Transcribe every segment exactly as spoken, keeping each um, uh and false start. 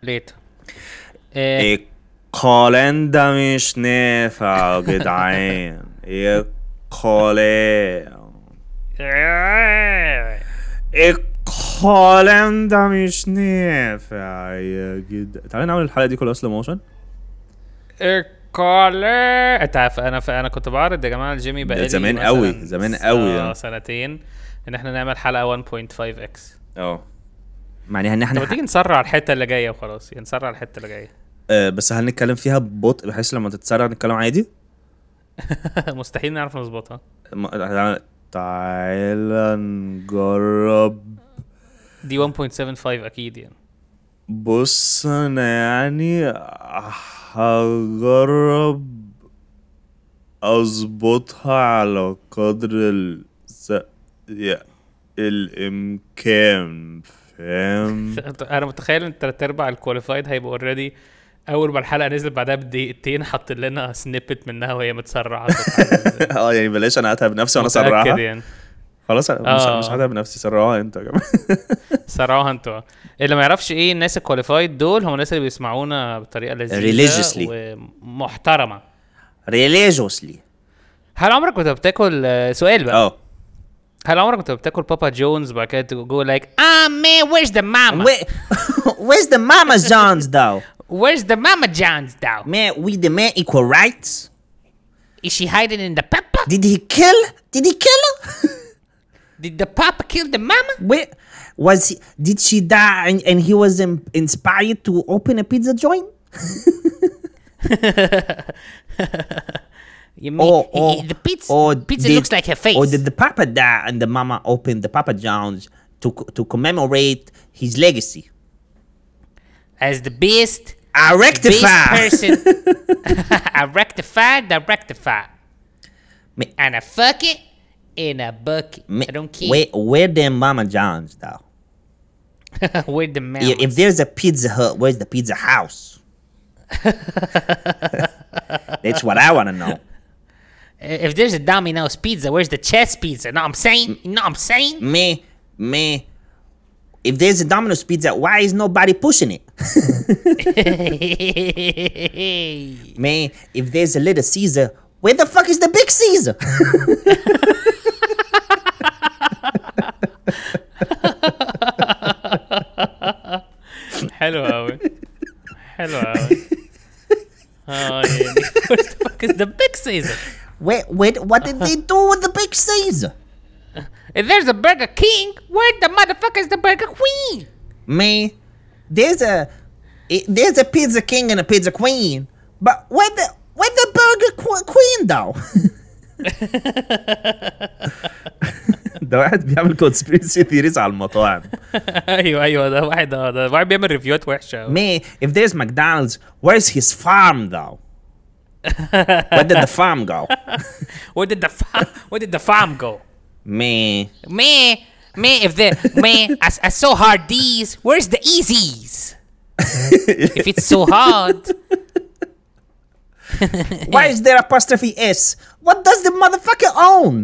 ليت إيه القالن ده مش نافع يا جدعان. القالن القالن ده مش نافع يا جدعان. تعالى نعمل الحلقة دي كلها سلو موشن. الكولا انت عارف انا ف... انا كنت بعرض يا جماعه الجيمي بقالي زمان قوي زمان قوي اه سنتين ان احنا نعمل حلقه واحد فاصلة خمسة اكس. اه معني ان احنا طب تيجي نسرع الحته اللي جايه وخلاص، يعني نسرع الحته اللي جايه. أه بس هل نتكلم فيها ببطء بحيث لما تتسرع نتكلم عادي؟ مستحيل نعرف نظبطها. م... تعالى نجرب. دي واحد فاصلة سبعة خمسة اكيد يعني. بص انا يعني هجرب اظبطها على قدر الس... يا... الامكان، فاهم؟ انا متخيل ان تلات ارباع الكواليفايد هيبقوا اوريدي اول ما الحلقه نزلت بعدها بدقيقتين حط لنا سنيبت منها وهي متسرعه. اه يعني بلاش انا اتعب نفسي وانا اسرعها يعني. خلاص انا آه. مش مش هتعب نفسي، سرعوها انت يا جماعه. سرعوها انتوا. اللي ما يعرفش ايه الناس الكواليفايد دول هم الناس اللي بيسمعونا بطريقه لذيذه ومحترمه. ريليجيوسلي. هل عمرك كنت بتاكل سؤال بقى؟ اه هل عمرك كنت بتاكل بابا جونز بعد كده تقول لايك اه مان ويرز ذا ماما where's the mama John's though where's the mama John's though man we the man equal rights is she hiding in the papa did he kill did he kill her did the papa kill the mama where was he did she die and, and he was in, inspired to open a pizza joint. You mean or, or, the pizza, or pizza did, looks like her face. Or did the papa die and the mama opened the Papa John's to to commemorate his legacy? As the best, I rectify. best person. I rectified, I rectified. Me, and I fuck it in a bucket. Me, I don't care. Where, where them Mama John's though? Where the mamas? If there's a Pizza Hut, where's the Pizza House? That's what I want to know. If there's a Domino's pizza, where's the chess pizza? Know what I'm saying? You know what I'm saying? Me, me. If there's a Domino's pizza, why is nobody pushing it? Man, if there's a Little Caesar, where the fuck is the Big Caesar? حلو قوي حلو قوي. اه يعني where the fuck is the Big Caesar? Wait, wait, what did they do with the Big Caesar? If there's a Burger King, where the motherfucker is the Burger Queen? Man, there's a there's a Pizza King and a Pizza Queen, but where the where the Burger qu- Queen though? ده واحد بيعمل conspiracy theories على المطاعم. ايوه ايوه ده واحد ده واحد بيعمل ريفيوات وحشه. Man, if there's McDonald's, where's his farm though? Where did the farm go? Where did the farm Where did the farm go? Man, man, man, if the man, I, I so hard these. Where's the easies? If it's so hard, why is there apostrophe S? What does the motherfucker own?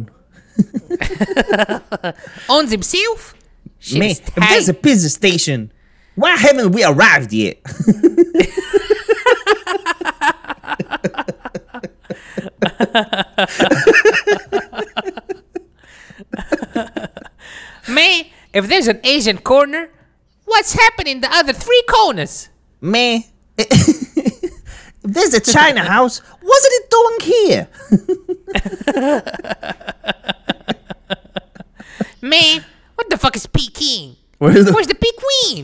Owns himself. Man, if there's a pizza station, why haven't we arrived yet? Man, if there's an Asian corner, what's happening in the other three corners? Man, if there's a China house, what's it doing here? Man, what the fuck is Peking? Where's the, Where's the Pequeen?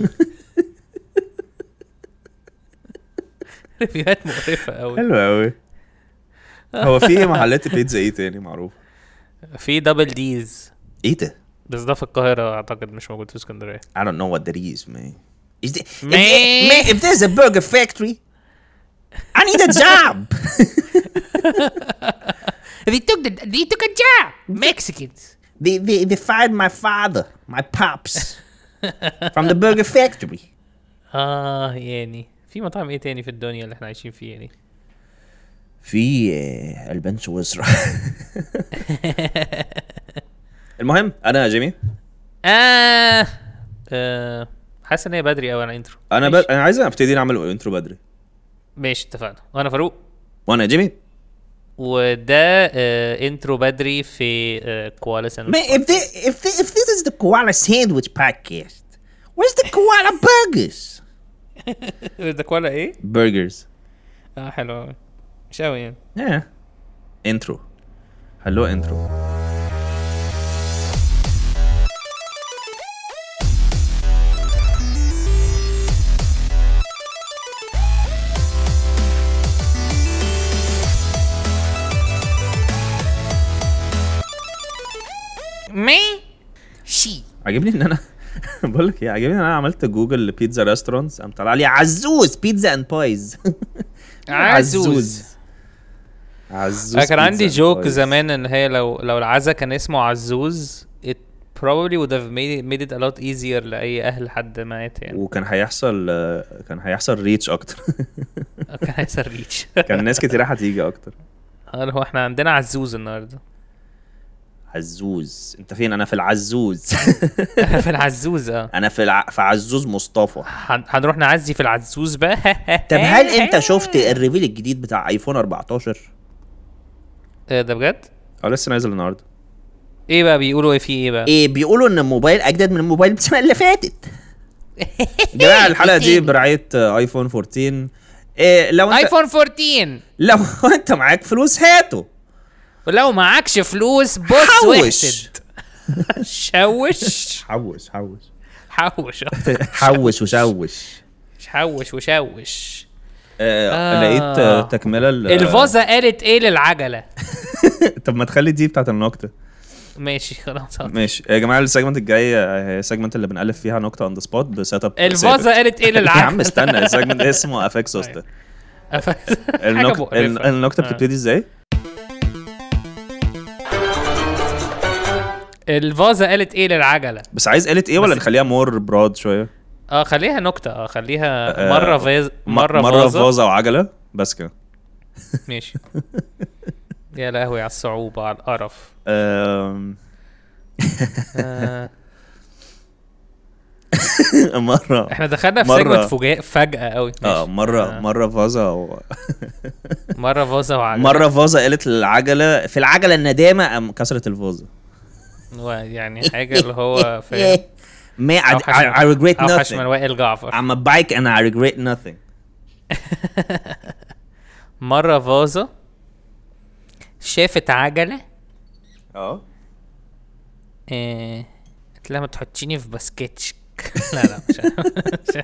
ريفيوهات مقرفة قوي. حلو قوي. هو في محلات بيتزا ايه تاني معروف؟ في دبل ديز. ايه ده؟ بس ده في القاهرة اعتقد مش موجود في اسكندرية. I don't know what that is, man. Is there, Man. If, man, if there's a burger factory, I need a job. They took the they took a job. Mexicans. They they they fired my father, my pops, from the burger factory. اه يعني في مطاعم ايه تاني في الدنيا اللي احنا عايشين فيه يعني؟ في البان سويسرا. المهم انا يا جيمي آه. آه حاسس ان هي بدري قوي على انترو. انا ب... انا عايز ابتدي نعمل انترو بدري. ماشي اتفقنا. وانا فاروق. وانا جيمي. وده آه انترو بدري في آه كوالا ساندويتش. Man, if, they, if, they, if this is the Koala Sandwich Podcast, where's the Koala Burgers? ده كوالا ايه؟ Burgers. اه حلو قوي. مش قوي يعني. Yeah. Intro. Hello intro. مي شي عجبني ان انا بقول لك ايه، عجبني ان انا عملت جوجل لبيتزا ريستورانتس، قام طلع لي عزوز بيتزا اند بايز. عزوز. عزوز. انا كان عندي بيتزا جوك بايز. زمان ان هي لو لو العزا كان اسمه عزوز it probably would have made it, made it a lot easier لاي اهل حد مات يعني. وكان هيحصل كان هيحصل ريتش اكتر. كان هيحصل ريتش. كان ناس كتير هتيجي اكتر. اه هو احنا عندنا عزوز النهارده. عزوز انت فين؟ انا في العزوز. في العزوز اه. انا في الع... في عزوز مصطفى. هن- هنروح نعزي في العزوز بقى. طب هل انت شفت الريفيل الجديد بتاع ايفون أربعتاشر؟ ايه ده بجد؟ اه لسه نازل النهارده. ايه بقى بيقولوا ايه فيه ايه بقى؟ ايه بيقولوا ان الموبايل اجدد من الموبايل السنه اللي فاتت. يا جماعه الحلقه دي برعايه ايفون أربعتاشر. إيه لو انت ايفون أربعتاشر لو انت معاك فلوس هاته، ولو معكش فلوس بص حوش. واحسد. شوش حوش حوش حوش حوش وشوش. حوش وشوش. آه آه. لقيت آه، تكمله ال- الفازة قالت ايه للعجلة؟ طب ما تخلي دي بتاعت النكته. ماشي خلاص. ماشي يا جماعه السيجمنت الجاي هي السيجمنت اللي بنألف فيها نكته اون ذا سبوت بسيت اب. الفازة قالت ايه يا للعجلة؟ عم استنى، السيجمنت اسمه افكس سوسته. النك... ال- النكته بتبتدي ازاي؟ الفازة قالت ايه للعجلة؟ بس عايز قالت ايه ولا بس- نخليها مور براد شويه؟ اه خليها نكتة. اه خليها آه، مرة فاز مرة, مرة فازة. فازة وعجلة بس كده. ماشي. يا لهوي على الصعوبة على القرف. آم، آه. مرة احنا دخلنا في مرة- سيجمنت فجاء فجأة قوي. اه مرة آه. مرة فازة و... مرة فازة وعجلة. مرة فازة قالت للعجلة في العجلة الندامة قام كسرت الفازة. يعني حاجة اللي هو فاهم. ما I, أوحش I, من- I regret أوحش من nothing. وائل جعفر. I'm a bike and I regret nothing. مرة فازة شافت عجلة. اه آه، قلت لها ما تحطيني في باسكتش. لا لا مش مش-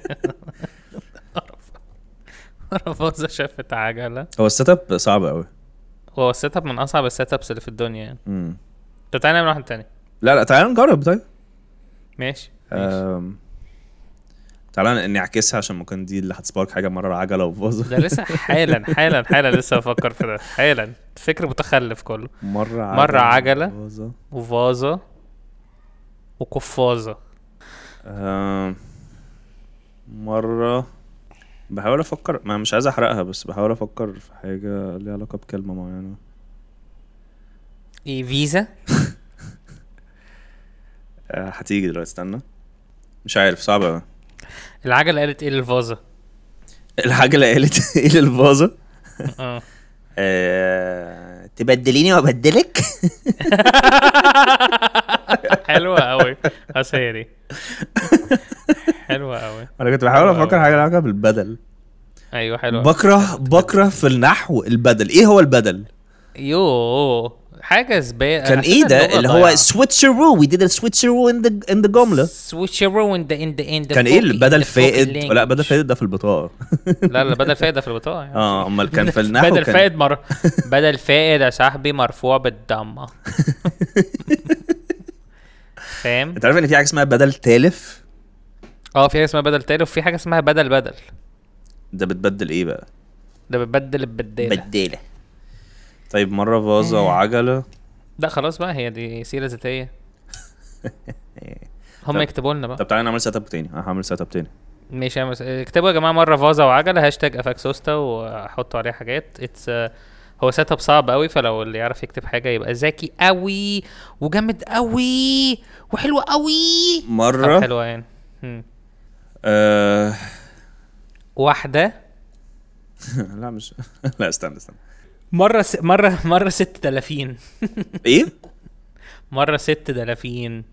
مرة فازة شافت عجلة. هو السيت اب صعب قوي. هو السيت اب من أصعب السيت ابس اللي في الدنيا يعني. مم. طب تعالى نعمل واحد تاني. لا لا تعالى نجرب طيب. ماشي. آم، تعالى نعكسها عشان ممكن دي اللي هتسبارك حاجة مرة عجلة وفازة. ده لسه حالا حالا حالا لسه بفكر في ده حالا. فكر متخلف كله. مرة عجلة مرة عجلة. وفازة. وفازة وقفازة. آم، مرة بحاول افكر، ما مش عايز احرقها بس بحاول افكر في حاجة ليها علاقة بكلمة معينة. ايه فيزا؟ آه، هتيجي دلوقتي استنى. مش عارف صعبة اوي. العجلة قالت ايه للفازة؟ العجلة قالت ايه للفازة؟ اه آه، تبدليني وابدلك. حلوة قوي. بس هي دي حلوة قوي. انا كنت بحاول حلوة افكر أوي. حاجة ليها علاقة بالبدل. ايوه حلوة. بكره بكره في النحو البدل. ايه هو البدل؟ يو حاجة زبالة. كان ايه ده اللي هو switcheroo. we did a switcheroo in the in the جملة. switcheroo in the in the in the كان ايه folk- البدل in the folk فائد؟ language. لا بدل فائد ده في البطاقة. لا لا بدل فائد ده في البطاقة يعني. اه امال كان في النحو بدل كان فائد مر... بدل فائد يا صاحبي مرفوع بالضمة. فاهم؟ انت عارف ان في حاجة اسمها بدل تالف؟ اه في حاجة اسمها بدل تالي وفي حاجة اسمها بدل بدل. ده بتبدل ايه بقى؟ ده بتبدل البدالة. بدالة. طيب مرة فازة وعجلة. لا خلاص بقى هي دي سيرة ذاتية. هم طب- يكتبوا لنا بقى. طب تعالى نعمل سيت اب تاني. انا هعمل سيت اب تاني. ماشي يا مس... اكتبوا يا جماعه مره فازه وعجله هاشتاج افاكسوستا وحطوا عليها حاجات. اتس هو سيت اب صعب قوي فلو اللي يعرف يكتب حاجه يبقى ذكي قوي وجامد قوي وحلو قوي. مرة حلوه يعني. هم. آه... واحده لا مش لا استنى استنى مره س... مره مره ست دلافين. ايه مره ست دلافين.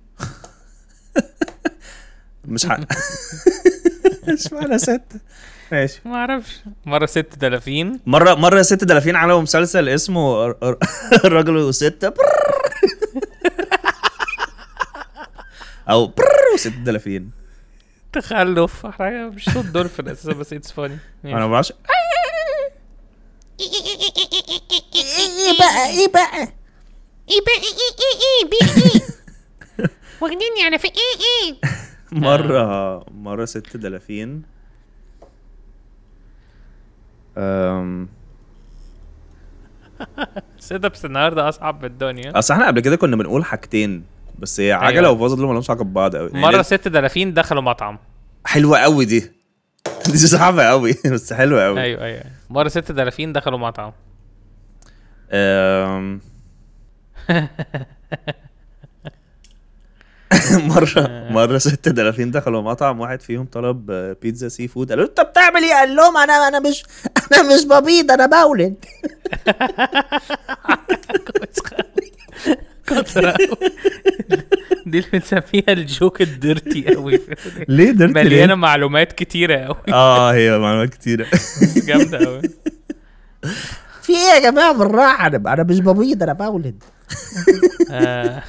مش حق مش معنى ستة ماشي. ما اعرفش. مره ست دلافين. مرة مرة ست دلافين على مسلسل اسمه ر- ر- الرجل وستة برر. او برر وست دلافين. تخلف حاجه مش صوت دولفين اساسا بس اتس فاني. انا ما بعرفش ايه بقى ايه بقى ايه بقى ايه ايه ايه بقى ايه واخديني على في ايه ايه مرة مرة ست دلافين أم... سيت ابس النهارده اصعب من الدنيا. اصل احنا قبل كده كنا بنقول حاجتين بس هي عجلة أيوة. وفازل ما لهمش علاقة ببعض قوي. مره ست دلافين دخلوا مطعم. حلوة قوي دي دي صعبة قوي بس حلوة قوي. ايوه ايوه مره ست دلافين دخلوا مطعم. أم... مرة مرة ست دلافين دخلوا مطعم واحد فيهم طلب آه، بيتزا سي فود قالوا انت بتعمل ايه؟ قال لهم انا انا مش انا مش ببيض انا بولد. كتر أوي. دي اللي بنسميها الجوك الديرتي قوي. ليه درت مليانه معلومات كتيره قوي. اه هي معلومات كتيرة. جامده قوي. في ايه يا جماعه بالراحه؟ انا انا مش ببيض انا بولد. آه.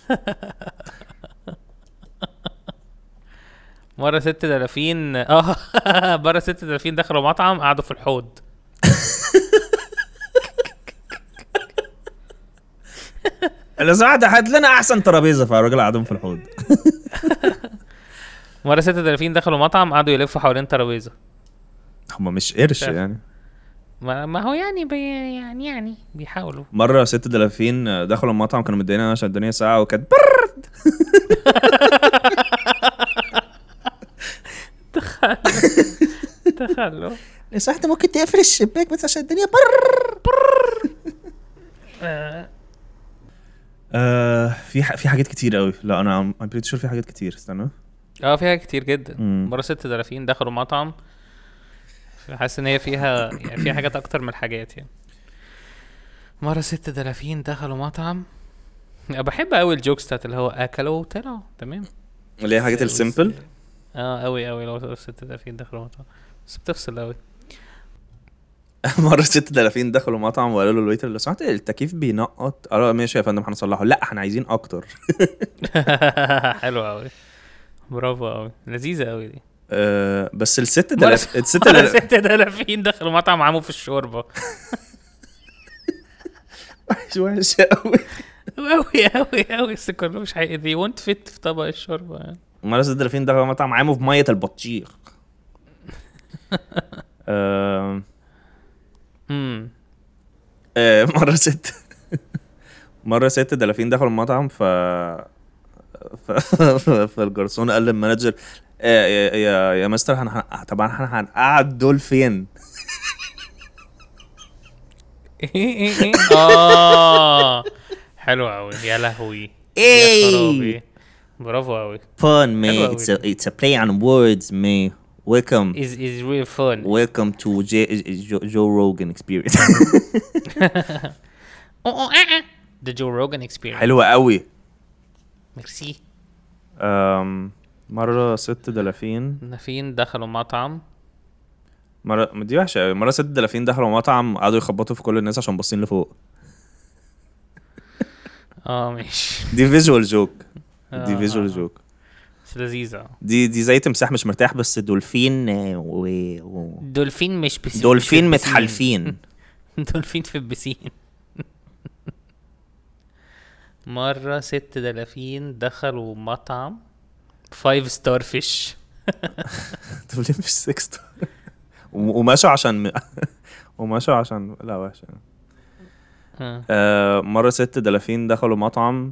مرة ست دلافين اه مرة ست دلافين دخلوا مطعم قعدوا في الحوض. لو سمحت هات لنا احسن ترابيزة فالراجل قعدهم في الحوض. مرة ست دلافين دخلوا مطعم قعدوا يلفوا حوالين ترابيزة. هم مش قرش شايف. يعني. ما, ما هو يعني بي يعني يعني بيحاولوا. مرة ست دلافين دخلوا المطعم كانوا مدينا عشان الدنيا ساعة وكانت برد. تخلوا. لو سمحت ممكن تقفل الشباك بس عشان الدنيا بر. آه. آه في ح... في حاجات كتير قوي. لا انا ام بريتي شور في حاجات كتير. استنى اه فيها كتير جدا. مم. مرة ست دلافين دخلوا مطعم حاسس ان هي فيها يعني فيها حاجات اكتر من الحاجات يعني. مرة ست دلافين دخلوا مطعم. أنا بحب قوي الجوكس بتاعت اللي هو اكلوا وطلعوا تمام. اللي هي حاجات السيمبل. اه قوي قوي لو ست دلافين دخلوا مطعم بس بتفصل قوي. مرة ست دلافين دخلوا مطعم وقالوا له الويتر لو سمحت التكييف بينقط. قالوا ماشي يا فندم هنصلحه. لا احنا عايزين اكتر. حلو قوي. برافو قوي لذيذة قوي دي. آه بس الست مرة دلافين الست مرة دلافين ست دلافين دخلوا مطعم عموا في الشوربة. وحشة قوي. قوي قوي قوي بس كله مش حقيقي دي وانت فت في طبق الشوربة يعني. مرة ست دلافين دخلوا مطعم عاموا في مية البطيخ. آه امم آه مرة ست مرة ست دلافين دخلوا المطعم ف ف... فالجرسون قال للمانجر آه يا يا, يا مستر هن... طبعا احنا هنقعد دول فين؟ ايه ايه ايه اه حلو قوي يا لهوي. يا ايه خرابي. برافو قوي. Fun man, حلوة it's a it's a play on words man. Welcome is is real fun. welcome to J- Joe, Joe Rogan experience. او او اه The Joe Rogan experience. حلوة قوي. ميرسي. أم... مرة ست دلافين دلافين دخلوا مطعم. مرة ما دي وحشة قوي. مرة ست دلافين دخلوا مطعم قعدوا يخبطوا في كل الناس عشان باصين لفوق. اه ماشي. دي فيجوال جوك. دي آه، فيجوال آه. جوك. بس لذيذة. دي دي زي تمساح مش مرتاح بس دولفين آه، و... و... دولفين مش بسين. دولفين مش في البسين. متحالفين. دولفين في البسين. مرة ست دلافين دخلوا مطعم فايف ستار فيش. طب ليه مش سكس وماشوا عشان وماشوا عشان لا وحشة. آه مرة ست دلافين دخلوا مطعم.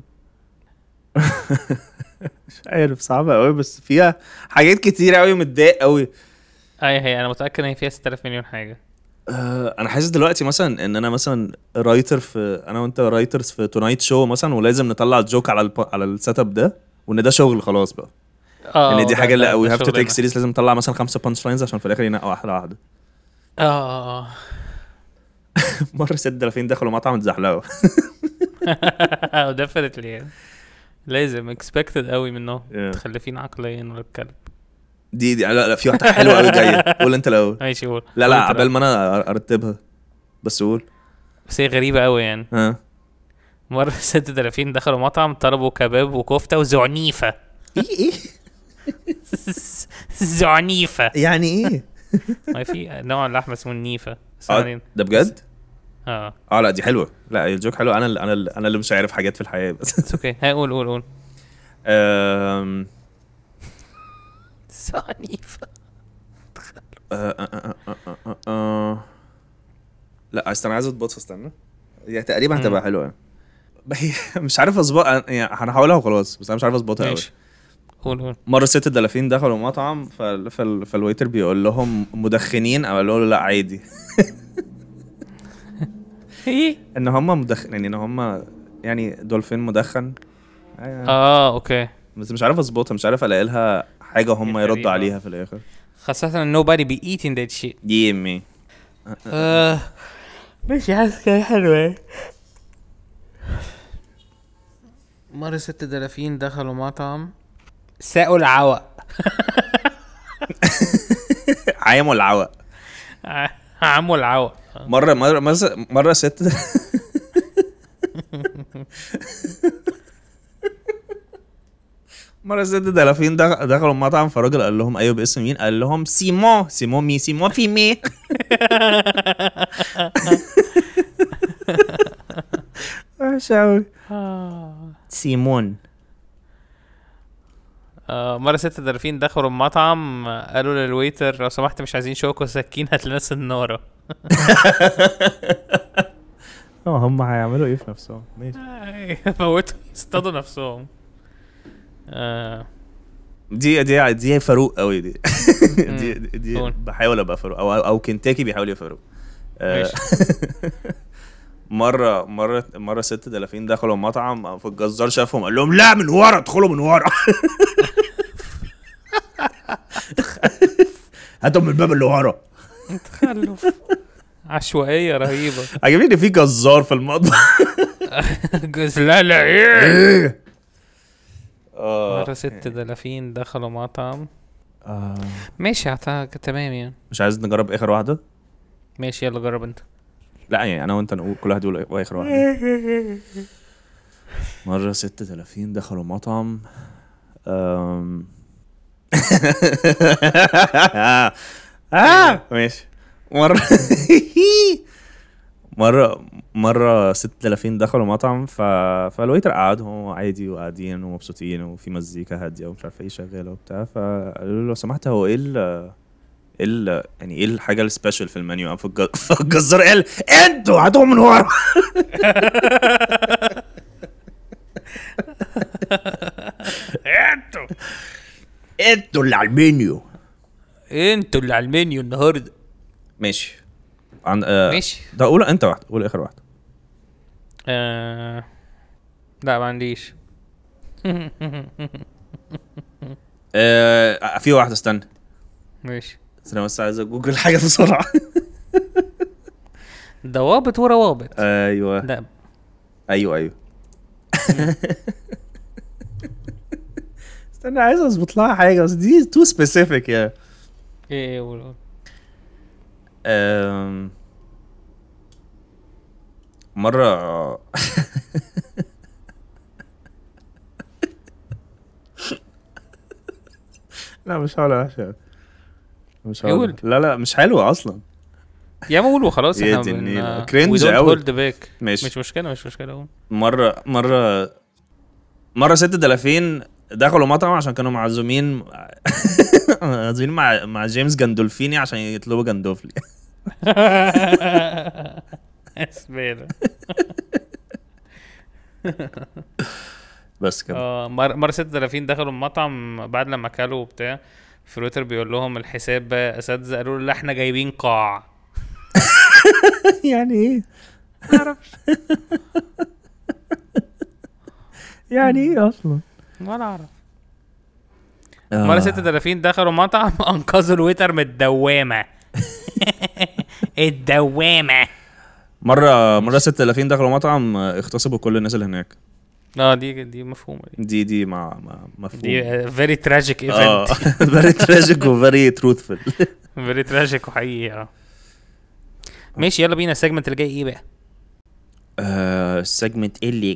مش عارف صعبة قوي بس فيها حاجات كتير قوي متضايق قوي. اي هي انا متأكد ان هي فيها ستة آلاف مليون حاجة. آه انا حاسس دلوقتي مثلا ان انا مثلا رايتر في انا وانت رايترز في تونايت شو مثلا ولازم نطلع الجوك على الب... على السيت اب ده وان ده شغل خلاص بقى. اه يعني دي ده- حاجه اللي ده- وي ده هاف تو تيك شغلنا. سيريس، لازم نطلع مثلا خمسه بانش لاينز عشان في الاخر ينقوا واحده واحده. اه اه مره ست دلافين دخلوا مطعم اتزحلقوا. اه ديفنتلي يعني لازم اكسبكتد قوي منهم Yeah. متخلفين عقليا ولا الكلب. دي دي لا لا في واحده حلوه قوي جايه، قول انت الاول. ماشي قول. لا قول لا انت عبال الأول. ما انا أر- ارتبها بس قول. بس هي غريبة قوي يعني. ها مرة ست دلافين دخلوا مطعم طلبوا كباب وكفتة وزعنيفة. ايه ايه زعنيفة. يعني ايه؟ ما في نوع اللحمة اسمه النيفة. بس اه يعني- ده بجد؟ اه اه لا دي حلوه، لا الجوك حلوه. انا اللي انا اللي انا اللي مش عارف حاجات في الحياه بس. اتس اوكي. هاي قول قول قول. أم، زعنيفة. آه، آه، آه، آه، آه، آه، آه. لا استنى عايز اضبطها، استنى هي تقريبا هتبقى حلوه يعني. هي مش عارف اظبط يعني، هنحاولها وخلاص بس انا مش عارف اظبطها قوي. ماشي قول قول. مره ست دلافين دخلوا مطعم فال... فال... فالويتر بيقول لهم مدخنين او قالوا له لا عادي. ايه ان هم مدخن يعني ان هم يعني دولفين مدخن. آه. اه اوكي. بس مش عارف اظبطها، مش عارف الاقي لها حاجه هم هي يردوا غريبة. عليها في الاخر. خاصة ان nobody be eating that shit. يمي آه ماشي حاسس كده حلوة. مرة ست دلافين دخلوا مطعم ساقوا العوق. عايم والعوق. عموا العوق. مره مره مره, مرة ست مرة ست دلافين دخ- دخلوا المطعم فالراجل قال لهم ايوه باسم مين؟ قال لهم سيمون. سيمون مي سيمون في مي. وحش أوي. سيمون. آه مرة ست دلافين دخلوا المطعم قالوا للويتر لو سمحت مش عايزين شوكة وسكين هات لنا سنارة. اه هم هيعملوا ايه في نفسهم؟ ماشي. موتوا يصطادوا نفسهم. آه دي دي دي فاروق قوي دي. دي دي, دي قول. بحاول ابقى فاروق او او كنتاكي بيحاول يبقى فاروق. آه، ماشي. مره مره مره ست دلافين دخلوا مطعم فالجزار شافهم قال لهم لا من ورا ادخلوا من ورا. هاتوا من الباب اللي ورا. تخلف. عشوائية رهيبة. عجبني في جزار في المطبخ. جز لا لا ايه. ايه مرة ست دلافين دخلوا مطعم. ماشي اعتقد تمام يعني. مش عايز نجرب اخر واحده؟ ماشي يلا جرب انت. لا يعني انا وانت نقول كل واحد يقول اخر واحده. مره ست دلافين دخلوا مطعم. أم... آه ماشي. مرة مرة مرة ست دلافين دخلوا مطعم ف... فالويتر قعدهم عادي وقاعدين ومبسوطين وفي مزيكا هادية ومش عارف ايه شغالة وبتاع، فقالوا له لو سمحت هو ايه ال ايه ال يعني ايه الحاجة السبيشال في المنيو؟ فالج- فالجزار قال انتوا هاتوا من ورا. انتوا انتوا اللي على المنيو. انتوا اللي على المنيو النهارده. ماشي. عن... آه... ماشي. ده قول انت واحدة، قول اخر واحدة. آه... لا ما عنديش. آه... في واحدة استنى. ماشي. بس انا بس عايز جوجل حاجة بسرعة. ضوابط وروابط. ايوه لا ايوه ايوه. استنى عايز اظبط لها حاجة بس دي تو سبيسيفيك يا. ايه ايه قول قول. أم... مرة لا مش حلوة وحشة. مش حلوة. قول. لا لا مش حلوة اصلا. يا ما قول وخلاص. يا احنا دي بن النيلة. we cringe don't أوي. hold back. ماشي. مش مشكلة مش مشكلة قول. مرة مرة مرة ست دلافين دخلوا مطعم عشان كانوا معزومين معزومين مع مع جيمس جاندولفيني عشان يطلبوا جندوفلي. اسبير. بس كده. اه مرة مرة ست دلافين دخلوا المطعم بعد لما اكلوا وبتاع. فروتر بيقول لهم الحساب بقى اساتذه. قالوا له لا احنا جايبين قاع. يعني ايه؟ يعني ايه اصلا؟ ولا اعرف. مره ست دلافين دخلوا مطعم انقذوا الويتر من الدوامه. الدوامه. مره مره ستة آلاف دخلوا مطعم اغتصبوا كل الناس اللي هناك. اه دي دي مفهومه دي دي دي مع مفهوم دي فيري تراجيك اه ايفنت. فيري تراجيك وفيري تروثفul. فيري تراجيك وحقيقي. اه ماشي يلا بينا. السيجمنت اللي جاي ايه بقى؟ آه، السيجمنت اللي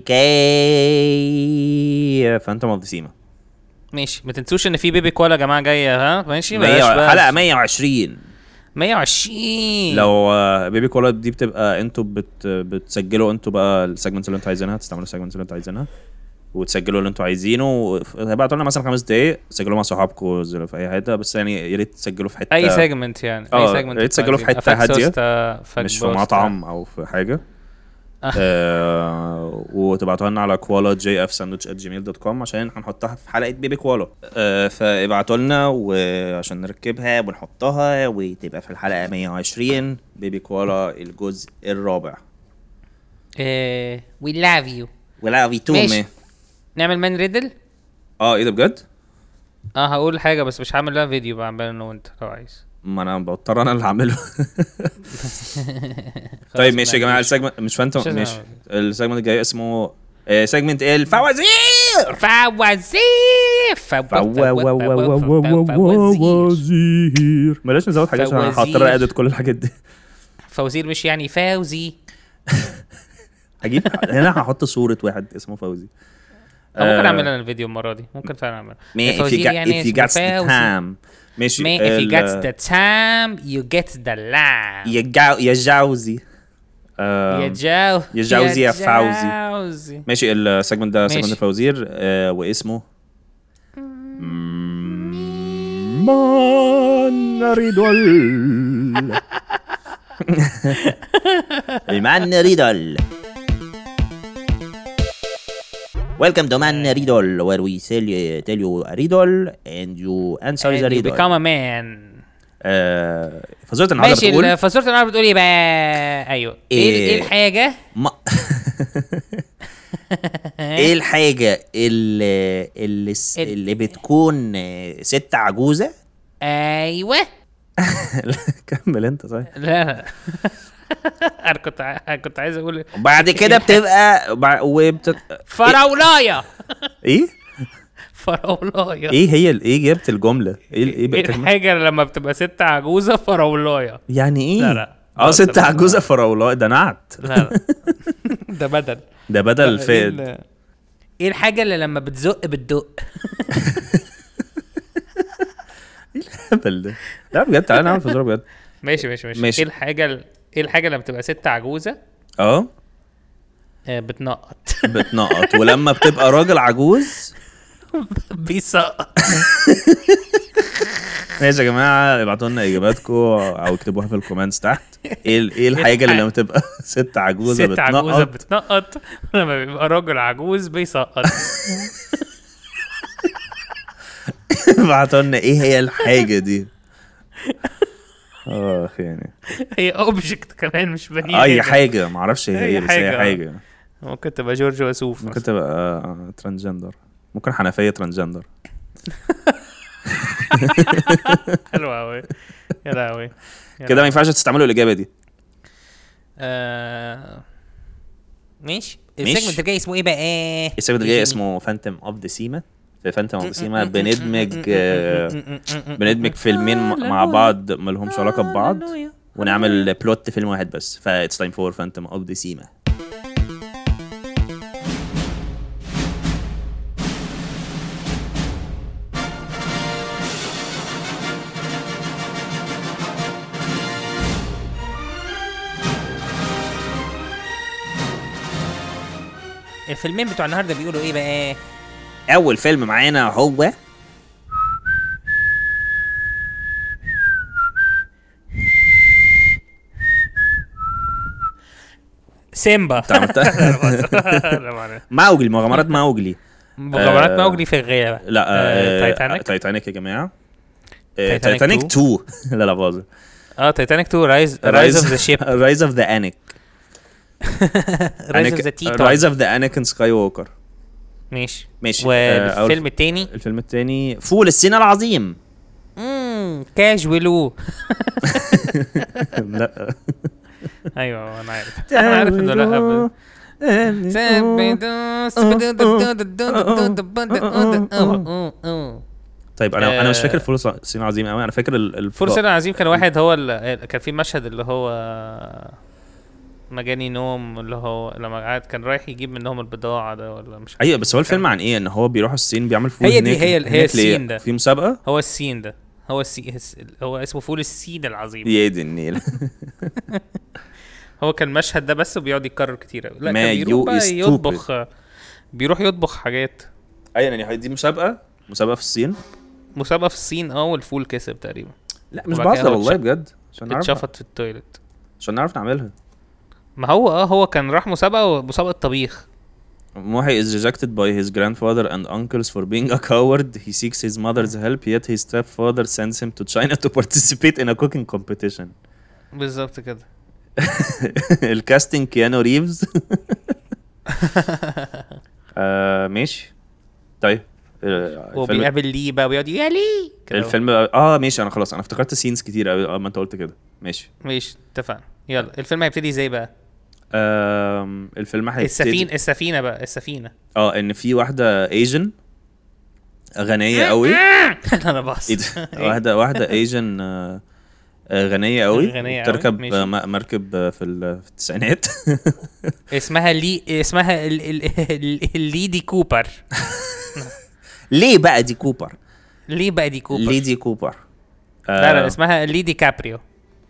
جاي فانتوم اوف ذا سيما. ماشي ما تنسوش ان في بيبي كوالا يا جماعه جايه. ها ماشي حلقه مية وعشرين مية وعشرين. لو بيبي كولا دي بتبقى انتوا بت بتسجلوا انتوا بقى السيجمنتس اللي انتوا عايزينها، تستعملوا السيجمنتس اللي انتوا عايزينها وتسجلوا اللي انتوا عايزينه. ابعتوا لنا مثلا خمس دقايق سجلوا مع صحابكم في اي حته، بس يعني يا ريت تسجلوا في حته اي سيجمنت يعني اي سيجمنت يا ريت تسجلوا في حته هاديه مش في مطعم او في حاجه. آه وتبعتوها لنا على كوالا جي اف ساندويتش ات جيميل دوت كوم عشان هنحطها في حلقه بيبي كوالا. آه فابعتوا لنا وعشان نركبها ونحطها وتبقى في الحلقه مية وعشرين بيبي كوالا الجزء الرابع. ايه وي لاف يو ولا في تومي. نعمل مان ريدل. اه ايه ده بجد؟ اه هقول حاجه بس مش هعمل لها فيديو، بعمل انا وانت لو عايز. ما انا بضطر انا اللي هعمله. طيب ماشي يا جماعه السيجمنت مش فانتوم ماشي السيجمنت الجاي اسمه سيجمنت الفوازير. فوازير فوازير بلاش نزود حاجات عشان هضطر اديت كل الحاجات دي. فوزير مش يعني فوزي. هجيب هنا هحط صوره واحد اسمه فوزي. ممكن اعمل انا الفيديو المره دي، ممكن فعلا اعمل فوزير يعني if you got the time. ماشي if you get the time you get the lamb. يا جاو يا جاوزي يا جاو يا جاوزي يا فوزي. ماشي السيجمنت ده سيجمنت فوزير آه واسمه مان ريدول. المان ريدول. Welcome to Man Riddle, where we tell you, tell you a riddle and you answer and the you riddle. become a man. آه فزورة النهارده ماشي بتقول فزورة النهارده بتقول ايه بقى؟ ايوه ايه ايه الحاجة ما ايه الحاجة اللي اللي, اللي بتكون ست عجوزة؟ ايوه كمل انت طيب. لا لا انا كنت كنت عايز اقول بعد كده بتبقى وبت... فراولايه. ايه فراولايه ايه هي ايه جبت الجمله ايه ايه, إيه الحاجه لما بتبقى ست عجوزه فراولايه؟ يعني ايه؟ لا لا اه ست عجوزه فراولايه ده نعت. لا لا ده بدل ده بدل فاد. ايه الحاجه اللي لما بتزق بتدق؟ ايه الهبل ده؟ لا بجد تعالى نعمل فزوره بجد. ماشي ماشي ماشي, ماشي. ايه الحاجه ايه الحاجه لما بتبقى ست عجوزه اه بتنقط؟ بتنقط ولما بتبقى راجل عجوز بيسقط. ماشي يا جماعه ابعتوا لنا اجاباتكم او اكتبوها في الكومنتس تحت. ايه ايه الحاجه اللي لما تبقى ست عجوزه ست بتنقط؟ عجوزه بتنقط لما بيبقى راجل عجوز بيسقط. ابعتوا لنا ايه هي الحاجه دي. اه يعني هي اوبجكت كمان مش بني اي حاجه ما اعرفش هي ايه بس هي حاجه. ممكن تبقى جورج وسوف، ممكن تبقى ترانسجندر، ممكن حنفيه ترانسجندر. حلو قوي يا لهوي كده ما ينفعش تستعملوا الاجابه دي. آه... ماشي. السيجمنت الجاي اسمه ايه بقى؟ السيجمنت الجاي اسمه فانتوم اوف ذا سيما. في فانتوم اوف ذا سيما بندمج بندمج فيلمين مع بعض ما لهمش علاقه ببعض ونعمل بلوت فيلم واحد بس. ف it's time for Phantom of the Sima. الفيلمين بتوع النهارده بيقولوا ايه بقى؟ اول فيلم معانا هو سيمبا. ماوجلي، مغامرات ماوجلي. مغامرات ماوجلي في الغابة. لا آه، تايتانيك. تايتانيك يا جماعة. تايتانيك اتنين. لا لا باظ. اه تايتانيك اتنين رايز رايز اوف ذا شيب. رايز اوف ذا انيك. رايز اوف ذا تيتو. رايز اوف ذا انيكن سكاي ووكر. ماشي ماشي. آه، أول- والفيلم التاني الفيلم التاني فول الصين العظيم. امم كاجولو. لا ايوه انا عارف انا عارف انه لا. طيب انا انا مش فاكر آه. فول الصين العظيم قوي. انا فاكر ال- الف- فرصة العظيم كان واحد هو ال- كان في مشهد اللي هو مجاني نوم، اللي هو لما قعد كان رايح يجيب منهم البضاعة ده ولا مش عارف. ايوه بس هو الفيلم عن ايه؟ ان هو بيروح الصين بيعمل فول هي دي- هناك- هي- هي هناك ليه؟ السين ده. في مسابقه. هو السين ده هو السي هو اسمه فول السين العظيم. يا دي النيل. هو كان المشهد ده بس وبيقعد يتكرر كتير أوي. لا ما كان you بيروح بقى is يطبخ، بيروح يطبخ حاجات. ايوه يعني دي مسابقه مسابقه في الصين. مسابقة في الصين اه والفول كسب تقريبا. لا مش وبعد كده بهزر هو والله اتش- بجد، عشان نعرف اتشفط في التويلت. عشان نعرف نعملها. ما هو اه هو كان راح مسابقة ومسابقة طبيخ. Mohi is rejected by his grandfather and uncles for being a coward. He seeks his mother's help, yet his stepfather sends him to China to participate in a cooking competition. بالظبط كده. الكاستنج كيانو ريفز. آه ماشي. طيب آه، الفيلم وبيقابل ليه بقى ويقعد يا ليه كده. الفيلم اه ماشي. انا خلاص انا افتكرت سينز كتير قوي اه ما انت قلت كده. ماشي. ماشي اتفقنا. يلا الفيلم هيبتدي ازاي بقى؟ آم الفيلم هيبتدي السفينة السفينة بقى السفينة. اه ان في واحده ايجن غنيه قوي. انا باص. ايه ده؟ واحده واحده ايجن آه آه، غنيه قوي غنية أوي، بتركب ماشي. آه، م- مركب آه، في ال- في التسعينات. اسمها لي اسمها ال... ال... ال... الليدي كوبر. ليه بقى دي كوبر؟ ليه بقى دي كوبر؟ ليه دي كوبر؟ لا لا آه، اسمها ليدي كابريو.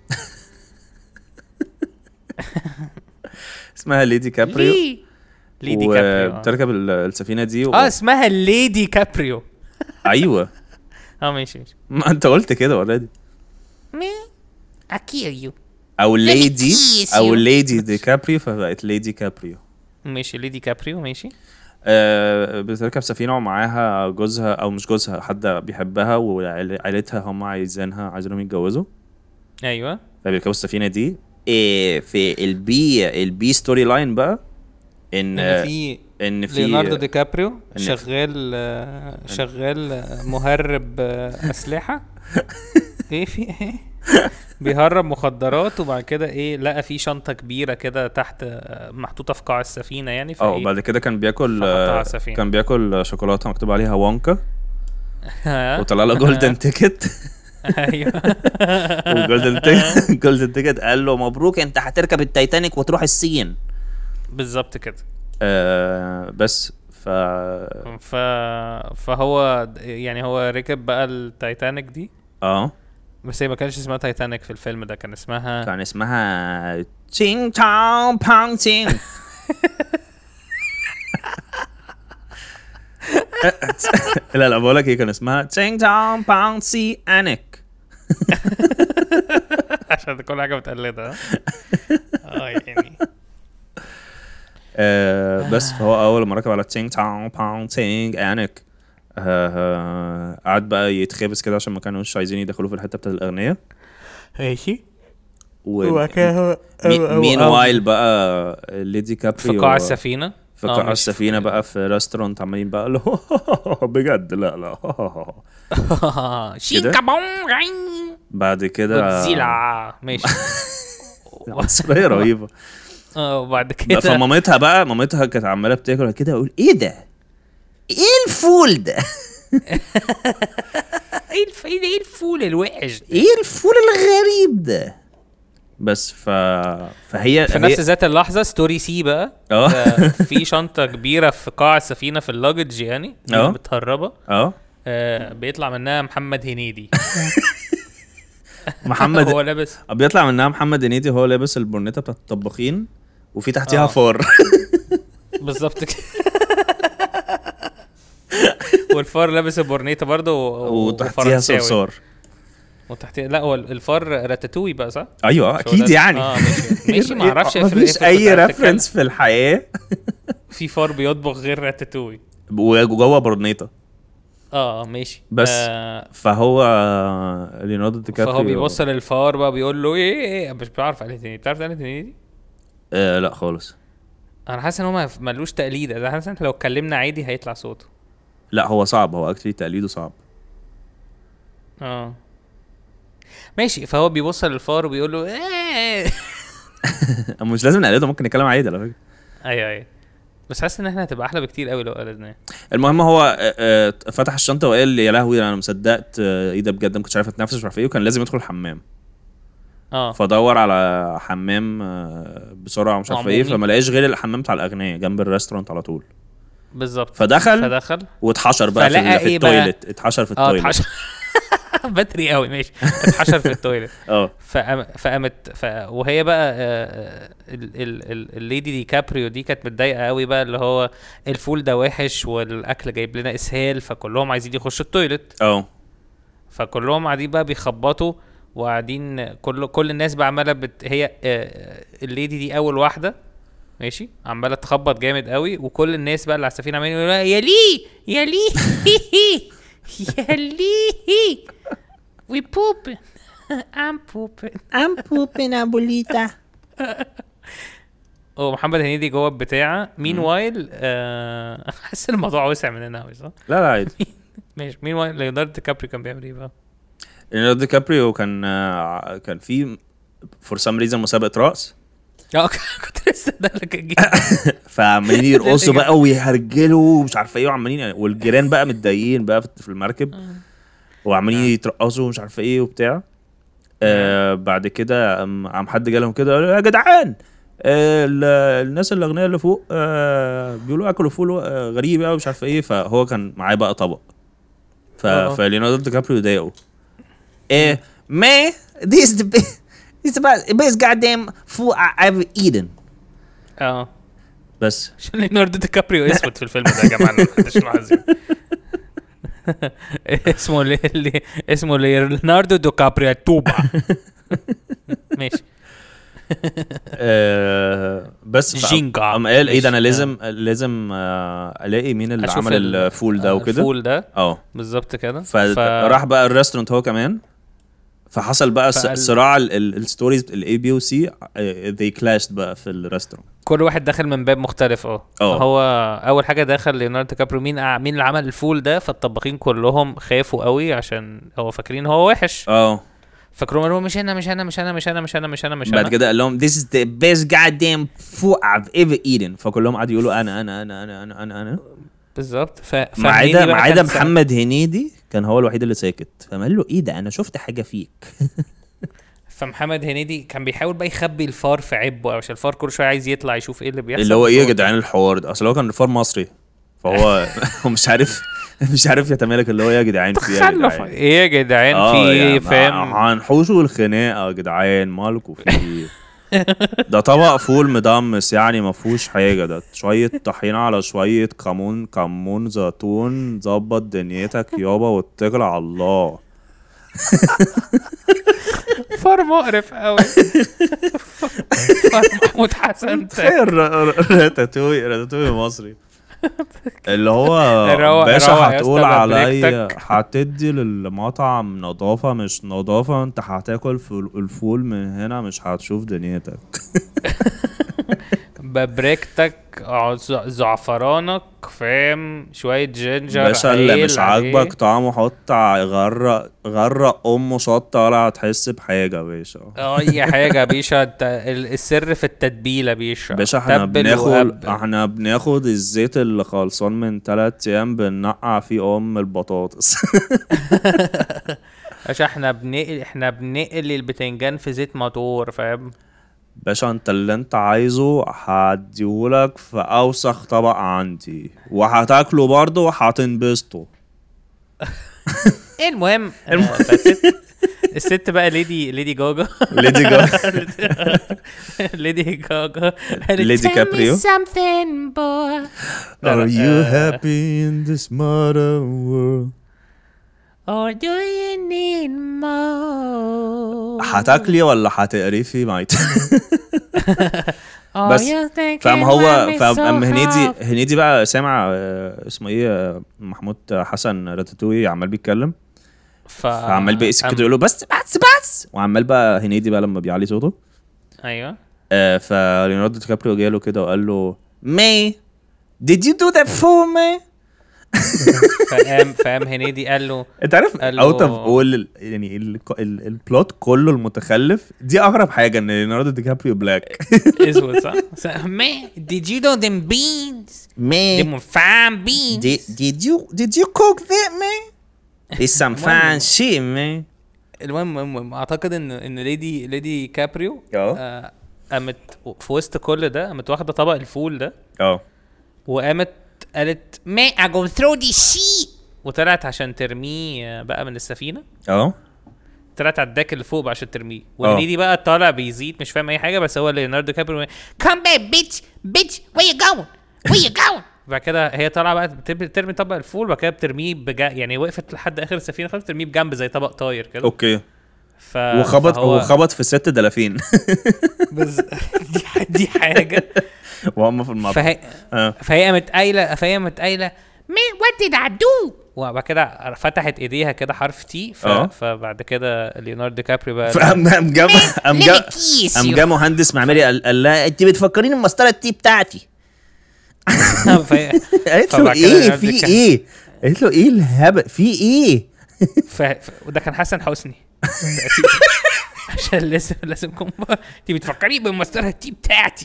اسمها ليدي كابريو. ليه ليدي كابريو آه. وبتركب ال- السفينه دي و... اه اسمها ليدي كابريو. ايوه اه ماشي ماشي. ما انت قلت كده اوريدي. Me? I kill you. او ليدي kiss او you. ليدي دي كابريو فبقت ليدي كابريو. ماشي ليدي كابريو ماشي. آه بتركب سفينه ومعاها جوزها او مش جوزها، حد بيحبها وعائلتها هم عايزينها عايزينهم يتجوزوا. ايوه فبيركبوا السفينه دي. إيه في البي البي ستوري لاين بقى ان ان في ان في ليوناردو دي كابريو إن- شغال آه، شغال آه، مهرب آه، اسلحه. ايه في ايه بيهرب مخدرات وبعد كده ايه لقى في شنطه كبيره كده تحت آه، محطوطه في قاع السفينه يعني اه فايه وبعد كده كان بياكل فحطها على آه، السفينة. كان بياكل شوكولاته مكتوب عليها وانكا ها؟ وطلع له جولدن تيكت. ايوه والجولدن تيكت جولدن تيكت قال له مبروك انت هتركب التايتانيك وتروح الصين. بالظبط كده. آه بس ف ف فهو يعني هو ركب بقى التايتانيك دي، اه بس هي ما كانش اسمها تايتانيك في الفيلم ده، كان اسمها كان اسمها تشينج تاو بانج تشينج. لا لا بقول لك ايه، كان اسمها تشينج تاو بانج سي انك. عشان كل حاجه متقلده. اه يعني آه بس فهو اول ما ركب على تشينج تاو بانج تشينج انك آه، آه، قعد بقى يتخبس كده عشان ما كانوش عايزين يدخلوه في الحته بتاعت الاغنياء. ماشي. و كده مين وايل بقى ليدي كابريو في قاع السفينه في آه، قاع ماشي. السفينه بقى في ريستورانت عمالين بقى له بجد لا لا. Shinka bong ring. بعد كده جودزيلا ماشي. عنصريه رهيبه. اه وبعد بقى كده فمامتها بقى مامتها كانت عماله بتاكل كده اقول ايه ده؟ ايه الفول ده؟ ايه الف... ايه ده؟ ايه الفول الوحش ده؟ ايه الفول الغريب ده؟ بس ف فهي في هي- نفس ذات اللحظه ستوري سي بقى اه آه، في شنطه كبيره في قاع السفينه في اللاجج يعني دي اه. متهربه اه آه، بيطلع منها محمد هنيدي. محمد هو لابس بيطلع منها محمد هنيدي هو لابس البورنيتا بتاعت الطباخين وفي تحتيها اه. فار. بالظبط كده. والفار لابس البورنيطه برضه و- وتحتيها وفرنساوي. صرصار. وتحتيها لا هو الفار راتاتوي بقى صح؟ ايوه مش هو اكيد ده؟ يعني. اه ماشي ماشي ما اعرفش مفيش اي ريفرنس في الحياه في فار بيطبخ غير راتاتوي. وجوه برنيطه. اه ماشي بس آه فهو ليوناردو دي كابريو فهو بيبص للفار بقى بيقول له ايه ايه مش بعرف عليه تاني. بتعرف عليه تاني دي؟ آه لا خالص. انا حاسس ان هو ما- ملوش تقليد، انا حاسس ان لو اتكلمنا عادي هيطلع صوته. لا هو صعب، هو اكتلي تقليده صعب. اه ماشي، فهو بيبص للفار وبيقول له ايه. مش لازم نقلده، ممكن نتكلم عادي على فكره. ايوه ايوه، بس حاسس ان احنا هتبقى احلى بكتير قوي لو قلدناه. المهم هو آه، آه، فتح الشنطه وقال يا لهوي انا مصدقت، آه، ايه ده بجد، ما كنتش عارف اتنفس مش عارف ايه، وكان لازم يدخل الحمام. اه فدور على حمام آه، بسرعه ومش عارف ايه، عمومي. فما لقاش غير الحمام بتاع الاغنياء جنب الريستورانت على طول. بالظبط. فدخل فدخل واتحشر بقى في, فلقى ال- في إيه بقى؟ التويلت، اتحشر في اه التويلت. اتحشر. بدري قوي ماشي، اتحشر في التويلت. اه فقام- فقامت ف... وهي بقى آه، ال... ال... ال... الليدي دي كابريو دي كانت متضايقه قوي بقى، اللي هو الفول ده وحش والاكل جايب لنا اسهال، فكلهم عايزين يخشوا التويلت. اه فكلهم قاعدين بقى بيخبطوا وقاعدين، كل كل الناس بقى عماله بت... هي آه، الليدي دي اول واحده ماشي عماله تخبط جامد قوي، وكل الناس بقى اللي على السفينه عمالين يقولوا لها يا لي يا لي يا لي we poop I'm pooping. I'm pooping, abuelita. ومحمد هنيدي جوه البتاعه. مين وايل آه... حاسس الموضوع وسع مننا قوي صح؟ لا لا عادي. ماشي. مين وايل ليوناردو دي كابري كان بيعمل ايه بقى؟ ليوناردو دي كابريو كان آه، كان في فور سام ريزن مسابقه رقص، اه كنت لسه ده لك الجيل. فعمالين يرقصوا بقى ويهرجلوا ومش عارف ايه، وعمالين والجيران بقى متضايقين بقى في المركب وعمالين يترقصوا ومش عارف ايه وبتاع. آه بعد كده قام قام حد جالهم كده قال يا جدعان آه ال- الناس الاغنياء اللي فوق آه بيقولوا اكلوا فول آه غريب قوي مش عارف ايه، فهو كان معاه بقى طبق. ف آه. فليوناردو دي كابريو ضايقه. Eh, man, this is the best. This is about the best goddamn food I ever eaten. اه بس عشان ليوناردو دي كابريو اسود في الفيلم ده يا جماعه، ما حدش لاحظ. اسمه لي... لي... اسمه ليوناردو دي كابريو توبا. ماشي. آه بس ف- جينجا. قام قال ايه ده انا ماشي. لازم لازم آه الاقي مين اللي أشوف عمل ال- الفول ده آه، وكده. الفول ده اه بالظبط كده. فراح بقى الريستورانت هو كمان، فحصل بقى فقال- صراع الستوريز الاي بي وسي they clashed بقى في الريستورانت. كل واحد داخل من باب مختلف. اه اه. هو اول حاجه دخل ليوناردو دي كابريو، مين ع- مين اللي عمل الفول ده، فالطباخين كلهم خافوا قوي عشان هو فاكرين هو وحش، اه فاكروا قالوا مش انا مش انا مش انا مش انا مش انا مش انا مش انا. بعد كده قال لهم this is the best goddamn food I've ever eaten، فكلهم قعدوا يقولوا انا انا انا انا انا انا انا بالظبط. ف ما فهنيدي عدا بقى ما عدا كان سا- محمد هنيدي كان هو الوحيد اللي ساكت، فقال له ايه ده انا شفت حاجه فيك. فمحمد هنيدي كان بيحاول بقى يخبي الفار في عبه، عشان الفار كل شويه عايز يطلع يشوف ايه اللي بيحصل. اللي هو ايه يا فهو- جدعان الحوار ده، اصل هو كان فار مصري فهو هو مش عارف مش عارف يتمالك اللي هو يا جدعان في يا تخلف جدعان ايه يا جدعان اه في ايه يعني فاهم. هنحوشوا الخناقه يا جدعان مالكوا في ايه. ده طبق فول مدمس يعني ما فيهوش حاجه، ده شويه طحينه على شويه كمون كمون زيتون، ظبط دنيتك يابا واتكل على الله. فار مقرف قوي. فار محمود حسن. تخيل راتاتوي راتاتوي مصري اللي هو روق- باشا روق يا هتقول اسطى عليا ببريكتك. هتدي للمطعم نظافة مش نظافة، انت هتاكل فول- الفول من هنا مش هتشوف دنيتك. ببريكتك عز- زعفرانك فاهم، شويه جينجر باشا اللي عيل مش عليه. عاجبك طعمه حط ع- غرق غرق امه شطة ولا هتحس بحاجة يا باشا. اي حاجه يا باشا، الت- ال- السر في التتبيله يا باشا. باشا احنا تبل بناخد وقبل. احنا بناخد الزيت اللي خلصان من تلات ايام بننقع فيه ام البطاطس. باشا احنا بنقل احنا بنقل البتنجان في زيت موتور فاهم. باشا انت اللي انت عايزه هديهولك في اوسخ طبق عندي وهتاكله برضه وهتنبسطوا. المهم آه، فالست الست بقى ليدي ليدي جوجا. ليدي جوجا ليدي جوجا قالت ليدي Tell me كابريو. something, boy. لا، Are you آه. happy in this modern world؟ Or do you need more? هتاكلي ولا هتقرفي مايت؟ Or بس you thinking فاهم هو why me فاهم so أم هنيدي hard? هنيدي بقى سامع آه، اسمه ايه آه، محمود حسن راتاتوي عمال بيتكلم، ف... فعمال بيقسم أم- كده يقول له بس بس بس، وعمال بقى هنيدي بقى لما بيعلي صوته ايوه آه، فليوناردو دي كابريو جاله كده وقال له May did you do that for me فقام فقام هنيدي قال له انت عارف قال له- اوت اوف اول يعني ال- ال- البلوت كله المتخلف دي اغرب حاجه ان ليوناردو دي كابريو بلاك اسود صح؟ Man, did you know them beans? Man, Them fine beans. did, did you did you cook that, man? It's some fine shit man المهم المهم اعتقد ان ان ليدي ليدي كابريو اه. آه، قامت في وسط كل ده قامت واخده طبق الفول ده اه وقامت قالت Man, I go throw this shit. وطلعت عشان ترميه بقى من السفينه. اه طلعت على الداك اللي فوق بقى عشان ترميه وهنيدي بقى طالع بيزيد مش فاهم اي حاجه بس هو ليوناردو كابريو Come back, bitch. Bitch, where you going? Where you going? بعد كده هي طالعه بقى بترمي ترمي طبق الفول وبعد كده بترميه بجا يعني وقفت لحد اخر السفينه خالص بترميه بجنب زي طبق طاير كده. اوكي ف... وخبط فهو- وخبط في ست دلافين بز... دي, دي حاجه وهم في المطعم فهي اه فهي قامت قايله فهي قامت قايله Man, what did I do? وبعد كده فتحت ايديها كده حرف تي ف... اه. فبعد كده ليوناردو دي كابريو بقى فقام قام جاب قام Let جاب me kiss قام you. جاب مهندس معماري قال قال لها انت بتفكريني بمسطره التي بتاعتي. فهي... قالت له فبعد كده ايه ليوناردو في كان- ايه قالت له ايه الهبل في ايه ف... ف... وده كان حسن حسني عشان لازم لازم كم انت بتفكري بالمسطره التي بتاعتي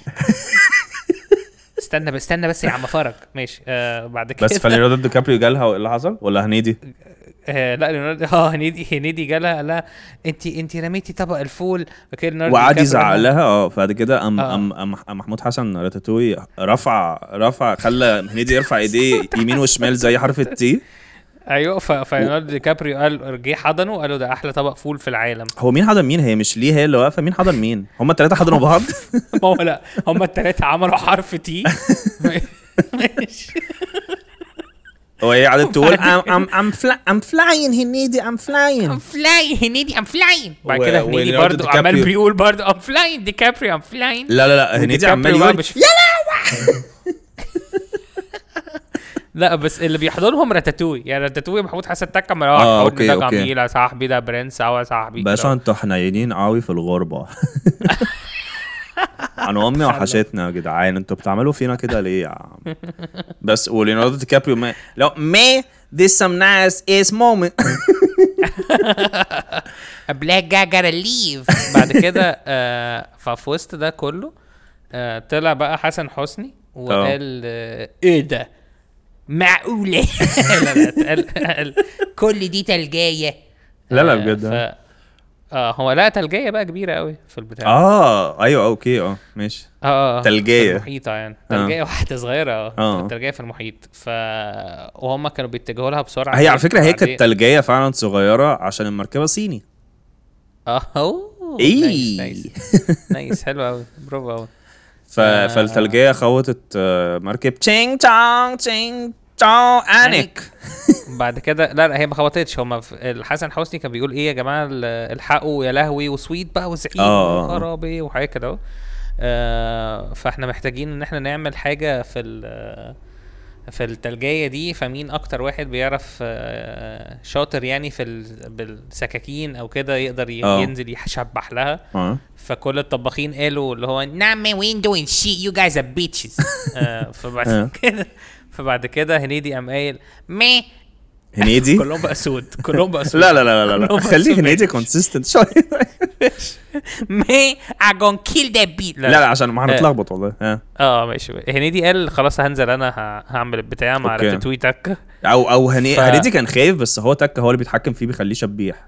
استنى بس استنى بس يا عم فرج ماشي آه بعد كده بس فليوناردو دي كابريو جالها وايه اللي حصل ولا هنيدي آه لا ليوناردو اه هنيدي هنيدي جالها قال لها انت انت رميتي طبق الفول فكده ليوناردو وقعد دي كابريو يزعق قال لها- لها اه بعد كده قام آه. قام قام قام محمود حسن راتاتوي رفع رفع خلى هنيدي يرفع ايديه يمين وشمال زي حرف التي ايوه ف... فليوناردو دي كابريو قال جه حضنه قال له ده احلى طبق فول في العالم. هو مين حضن مين هي مش ليه هي اللي واقفه مين حضن مين هما الثلاثه حضنوا بعض ما هو لا هم الثلاثه عملوا حرف تي ماشي هو هي قعدت تقول I'm I'm I'm fly, I'm flying هنيدي I'm flying. I'm flying, Hennedy. I'm flying. بعد و- كده هنيدي وليوناردو برضو دي عمال كابريو- بيقول برضو ام Flying, DiCaprio. I'm flying. لا لا لا هنيدي عمال كابريو بقى يقول مش لا بس اللي بيحضنهم راتاتوي يعني راتاتوي محمود حسن تكه ما آه، هو أوكي، ده أوكي. جميل يا صاحبي ده برنس او يا صاحبي باشا كده. انتوا حنينين قوي في الغربه انا امي وحشتنا يا جدعان انتوا بتعملوا فينا كده ليه يا عم بس وليوناردو دي كابريو ما لو Man, this some nice ass moment. A black guy gotta leave. بعد كده آه ففي وسط ده كله آه طلع بقى حسن حسني وقال آه ايه ده معقولة. لا لا قال قال كل دي تلجاية. لا لا آه، بجد ف... اه هو لا تلجية بقى كبيرة قوي في البتاع اه ايوه اوكي اه ماشي اه اه تلجية. في المحيطة يعني آه. تلجية واحدة صغيرة اه آه. تلجية في المحيط ف وهم كانوا بيتجهوا لها بسرعة هي على فكره هي بعدين- كانت تلجية فعلا صغيره عشان المركبه صيني اه اوه إيه. نايس نايس نايس حلو قوي برافو قوي ف... آه. فالتلجية خوتت آه، مركب تشينج تشونج تشينج تشونج انك بعد كده لا لا هي ما خبطتش هم الحسن حسني كان بيقول ايه يا جماعه ال- الحقوا يا لهوي وسويت بقى وزعيم آه. وخرابي وحاجه كده اهو. آه فاحنا محتاجين ان احنا نعمل حاجه في ال- في التلجية دي فمين اكتر واحد بيعرف آه، شاطر يعني في ال- بالسكاكين او كده يقدر ي- آه. ينزل يشبح لها اه فكل الطباخين قالوا اللي هو Nah, man, we ain't doing shit. You guys are bitches. آه، فبعد آه. كده فبعد كده هنيدي قام قايل Man, هنيدي كلهم بقى سود كلهم بقى سود لا لا لا لا لا كلهم خليه بقى هنيدي سود. كونسيستنت شويه man, I gonna kill that bitch. لا لا عشان ما هنتلخبط والله اه اه ماشي هنيدي قال خلاص هنزل انا ه- هعمل البتاع مع أوكي. راتاتوي تك او او هني... ف- هنيدي كان خايف بس هو تك هو اللي بيتحكم فيه بيخليه شبيح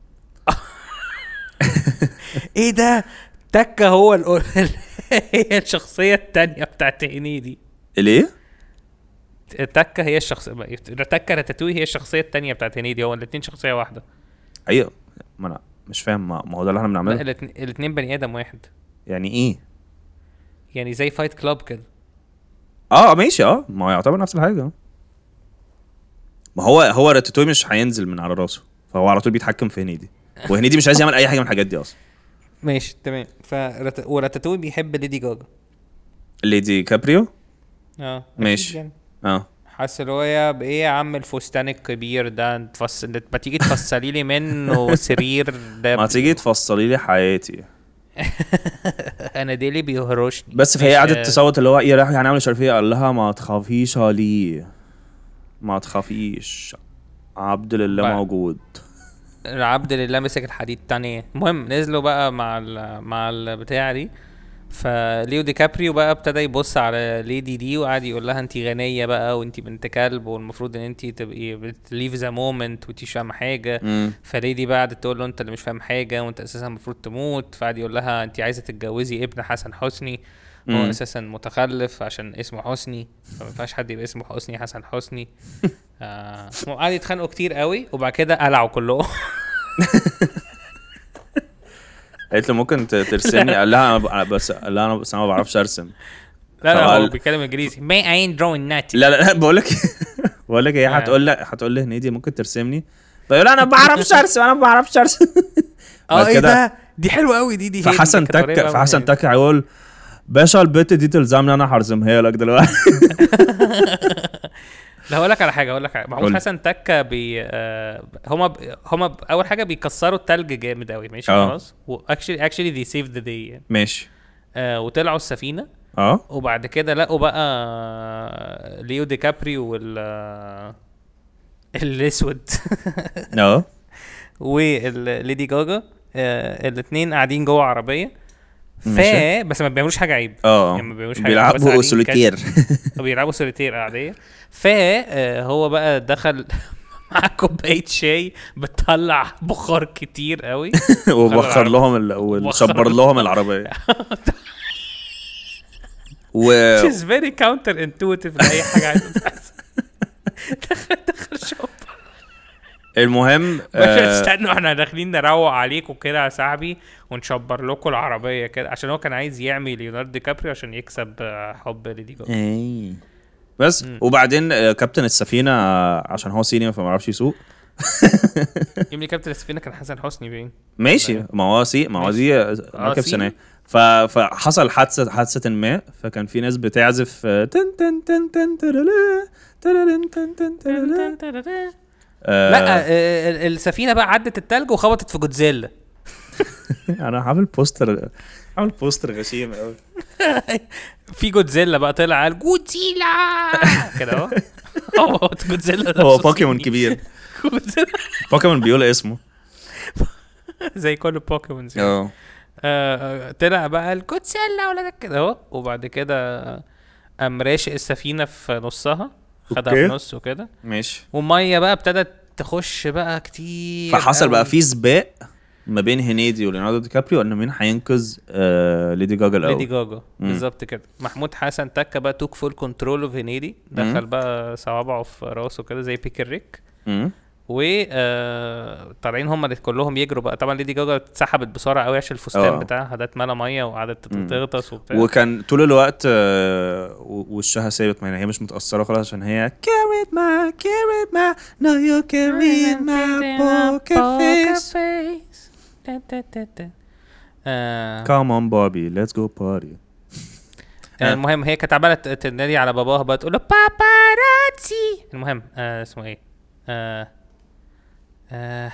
ايه ده تكة هو ال... هي الشخصية التانية بتاعت هنيدي ليه؟ تكة هي الشخصية تكة راتاتوي هي الشخصية التانية بتاعت هنيدي هو الاتنين شخصية واحدة ايوه ما انا مش فاهم ما ما هو ده اللي احنا لا بنعمله الاتنين, الاتنين بني ادم واحد يعني ايه؟ يعني زي فايت كلاب كده اه ماشي اه ما هو يعتبر نفس الحاجه ما هو هو راتاتوي مش هينزل من على راسه فهو على طول بيتحكم في هنيدي وهنيدي مش عايز يعمل اي حاجه من الحاجات دي اصلا ماشي تمام فرات... وراتاتوي بيحب ليدي جاجا ليدي كابريو اه أكيد ماشي. يعني. اه حاسس اللي هو يا بايه يا عم الفستان الكبير ده انت تفص... ما تيجي تفصلي لي منه سرير ده ما تيجي تفصلي لي حياتي انا ديلي بيهرشني. بس فهي مش- قعدت آه، تصوت اللي هو ايه راح هنعمل مش عارف ايه. قال لها ما تخافيش علي ما تخافيش عبد لله بقى. موجود. العبد لله مسك الحديد تاني. المهم نزلوا بقى مع ال مع البتاع دي. فليو دي كابريو بقى ابتدى يبص على ليدي دي وقعد يقول لها انت غنيه بقى وانت بنت كلب والمفروض ان انت تبقي بتليف ذا مومنت وانت مش فاهمه حاجه. مم. فليدي بقى قعدت تقول له انت اللي مش فاهم حاجه وانت اساسا المفروض تموت. فقعد يقول لها انت عايزه تتجوزي ابن حسن حسني هو مم. اساسا متخلف عشان اسمه حسني فما ينفعش حد يبقى اسمه حسني حسن حسني. آه قعدوا يتخانقوا كتير قوي وبعد كده قلعوا كلهم. قالت له ممكن ت- ترسمني. قال لها انا ب- بس قال لها انا بس انا ما بعرفش ارسم. لا لا فقال- هو بيتكلم انجليزي. May I ain't drawing nothing. لا لا لا بقول لك بقول لك هي آه. هتقول لي هتقول لي هنيدي ممكن ترسمني. فيقول انا ما بعرفش ارسم انا ما بعرفش ارسم. اه بعد ايه كده- ده دي حلوه قوي دي دي هي دي فحسن كانت قريبة تك أوي فحسن من تك هيقول باشا البت دي تلزمني انا هرسمها لك دلوقتي. لا هقول لك على حاجه هقول لك حاجه محمود قول. حسن تكه بي آه هما ب... هما ب... اول حاجه بيكسروا التلج جامد قوي ماشي آه. خلاص. واكشلي اكشلي ذي سيف ذا داي ماشي آه وطلعوا السفينه. اه وبعد كده لقوا بقى ليو دي كابريو وال آه، الاسود اه وليدي جاجا آه الاثنين قاعدين جوه عربيه. ف ماشي. بس ما بيعملوش حاجه عيب. اه يعني ما بيعملوش حاجة، بس بيلعبوا قاعدين سوليتير. بيلعبوا سوليتير عاديه. فهو بقى دخل مع كوبايه شاي بتطلع بخار كتير قوي وبخر لهم ال... وشبر لهم العربيه. و which is very counter intuitive لاي حاجه عايزه تحصل. دخل دخل شوب المهم مش آه، استنوا احنا داخلين نروق عليكم كده يا صاحبي ونشبر لكم العربيه كده عشان هو كان عايز يعمي ليوناردو دي كابريو عشان يكسب آه، حب ليدي جاجا. ايه بس مم. وبعدين آه، كابتن السفينه آه، عشان هو سينيور فما يعرفش يسوق. يملي كابتن السفينه كان حسن حسني باين. ماشي ما هو سي ما هو ماشي. دي آه، مركب سيني. سنة. ف... فحصل حادثه حادثه ما. فكان في ناس بتعزف آه، تن تن تن تن ترلا، ترلن تن تن ترلا. آه، لا آه، ال- السفينه بقى عدت التلج وخبطت في جودزيلا. انا عامل بوستر عامل بوستر غشيم قوي. في جودزيلا بقى طلع قال جودزيلا كده اهو. هو جودزيلا هو نفسه بوكيمون صيني. كبير. جودزيلا بوكيمون بيقول اسمه. زي كل البوكيمونز. اه آه، طلع بقى الجودزيلا ولا ده كده اهو. وبعد كده قام راشق السفينه في نصها خدها أوكي. في نص وكده. ماشي. وميه بقى ابتدت تخش بقى كتير فحصل بقى قوي. في سباق ما بين هنيدي وليوناردو دي كابريو ان مين هينقذ آه ليدي جاجا الاول. ليدي جاجا مم. بالظبط كده. محمود حسن تكه بقى توك فول كنترول اوف هنيدي. دخل مم. بقى صوابعه في راسه كده زي بيكر ريك. مم. و آه، طالعين هم اللي كلهم يجروا بقى. طبعا ليدي جاجا اتسحبت بسرعه قوي عشان الفستان آه. بتاعها ده اتملى ميه وقعدت مم. تغطس وبتاع. وكان طول الوقت آه و- وشها ثابت ما هي مش متأثرة خلاص عشان هي carried my carried my now you're carrying my poker face آه، come on Barbie let's go party. آه، المهم هي كانت عماله ت- تنادي على باباها بقى تقول له باباراتسي. المهم آه اسمه ايه آه آه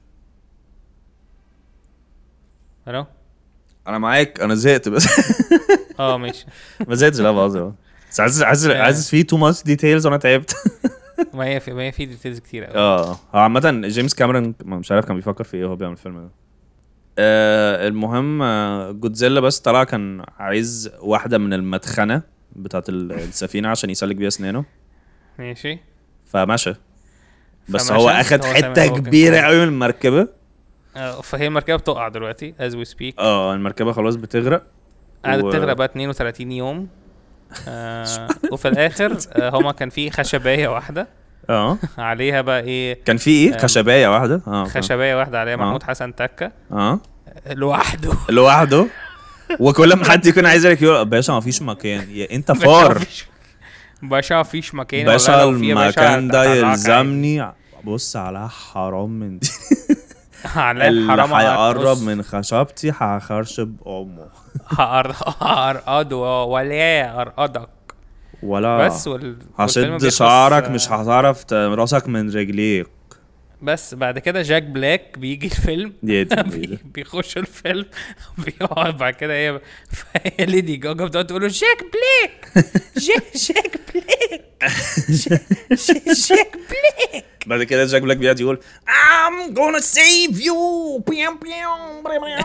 الو انا معاك انا زهقت بس اه ماشي. ما زهقتش لا بهزر بس عايز عايز آه. عايز في تو ماتش ديتيلز وانا تعبت. ما هي في ما هي في ديتيلز كتير قوي. اه هو عامة جيمس كاميرون مش عارف كان بيفكر في ايه وهو بيعمل الفيلم ده. آه المهم آه جودزيلا بس طلع كان عايز واحدة من المدخنة بتاعت ال- السفينة عشان يسلك بيها اسنانه ماشي. فمشى. بس فمشى. هو اخد هو حتة تمام، هو كان كبيرة كويس. قوي من المركبة. آه، فهي المركبه بتقع دلوقتي as we speak. اه المركبة خلاص بتغرق. قعدت و- تغرق بقى اتنين وتلاتين يوم. آه وفي الاخر آه هما كان في خشبايه واحده اه عليها بقى ايه كان في ايه آم، خشبايه واحده اه فاهم. خشبايه واحده عليها آه. محمود حسن تكه اه لوحده. لوحده. وكل ما حد يكون عايز يقول يقول باشا ما فيش مكان يا انت باشا فار مفيش- باشا مفيش مكان. باشا والله لو في يا باشا المكان ده هطلعك يلزمني. بص على حرام من دي عادي. على اللي الحرام هيقرب هتقص. من خشبتي هخرشب امه هأر- هأرقده ولا أرقدك ولا بس وال... والفيلم هشد بيخلص، شعرك آه، مش هتعرف ت- راسك من رجليك. بس بعد كده جاك بلاك بيجي الفيلم بي- بيخش الفيلم بيقعد بعد كده هي فهي ليدي جاجا بتقعد تقول له جاك بلاك جاك جاك بلاك جاك- جاك بلاك. بعد كده جاك بلاك بيقعد يقول I'm gonna save you بيام بيام بيام.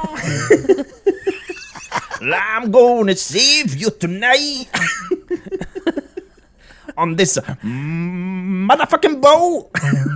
I'm gonna save you tonight on this motherfucking boat.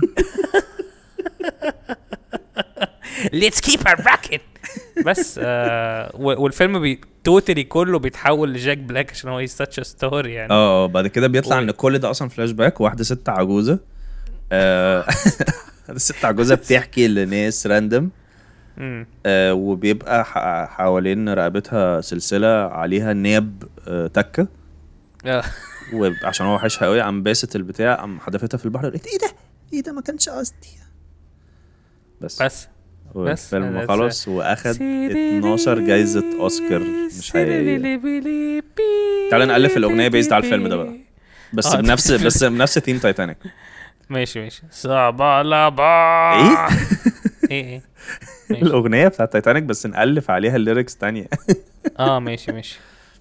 Let's keep a rocket. بس آه و- والفيلم بي توتالي كله بيتحول لجاك بلاك عشان هو such a story يعني. اه بعد كده بيطلع و- ان كل ده اصلا فلاش باك. واحده ست عجوزه آه، الست عجوزه بتحكي لناس راندم مم. آه، وبيبقى ح- حوالين رقبتها سلسله عليها ناب آه، تكه. آه. وعشان هو وحشها قوي قام باسط البتاع قام حدفتها في البحر. قلت ايه ده ايه ده ما كانش قصدي. بس بس والفيلم بس. خلص واخد اتناشر جايزه اوسكار مش حقيقيه. تعالى نألف الاغنيه بيزد على الفيلم ده بقى بس آه، بنفس بس بنفس ثيم تايتانيك. ماشي ماشي صعبة لابا ايه ايه ايه ماشي. الاغنيه بتاعت تايتانيك بس نألف عليها الليركس تانية. اه ماشي ماشي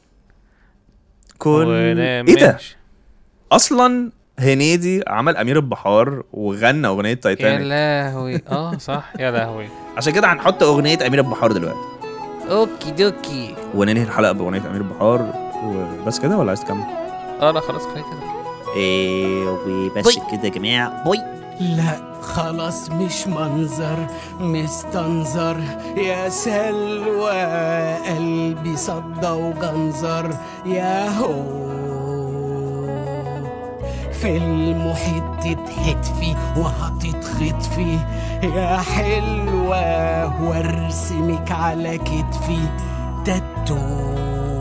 كل ولا ايه ده ماشي. اصلا هنيدي عمل امير البحار وغنى اغنيه يا تايتانيك. لهوي اه صح يا لهوي. عشان كده هنحط اغنيه امير البحار دلوقتي اوكي دوكي. وننهي الحلقه باغنيه امير البحار وبس كده ولا عايز تكمل؟ اه لا خلاص كفايه كده. ايه وبس كده يا جماعه. باي. لا خلاص مش منظر مستنظر يا سلوى قلبي صدى وجنظر يا هو في المحيط تتحتفي وهتتخطفي يا حلوة وارسمك على كتفي تاتو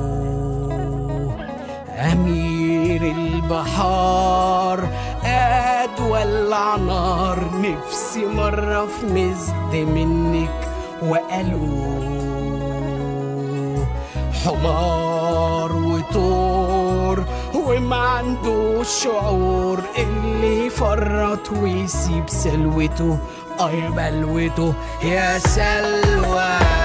أمير البحار أدولع نار نفسي مرة في مزد منك وقالوا حمار وطور وما عندوش شعور اللي يفرط ويسيب سلوته اه يا بلوته يا سلوى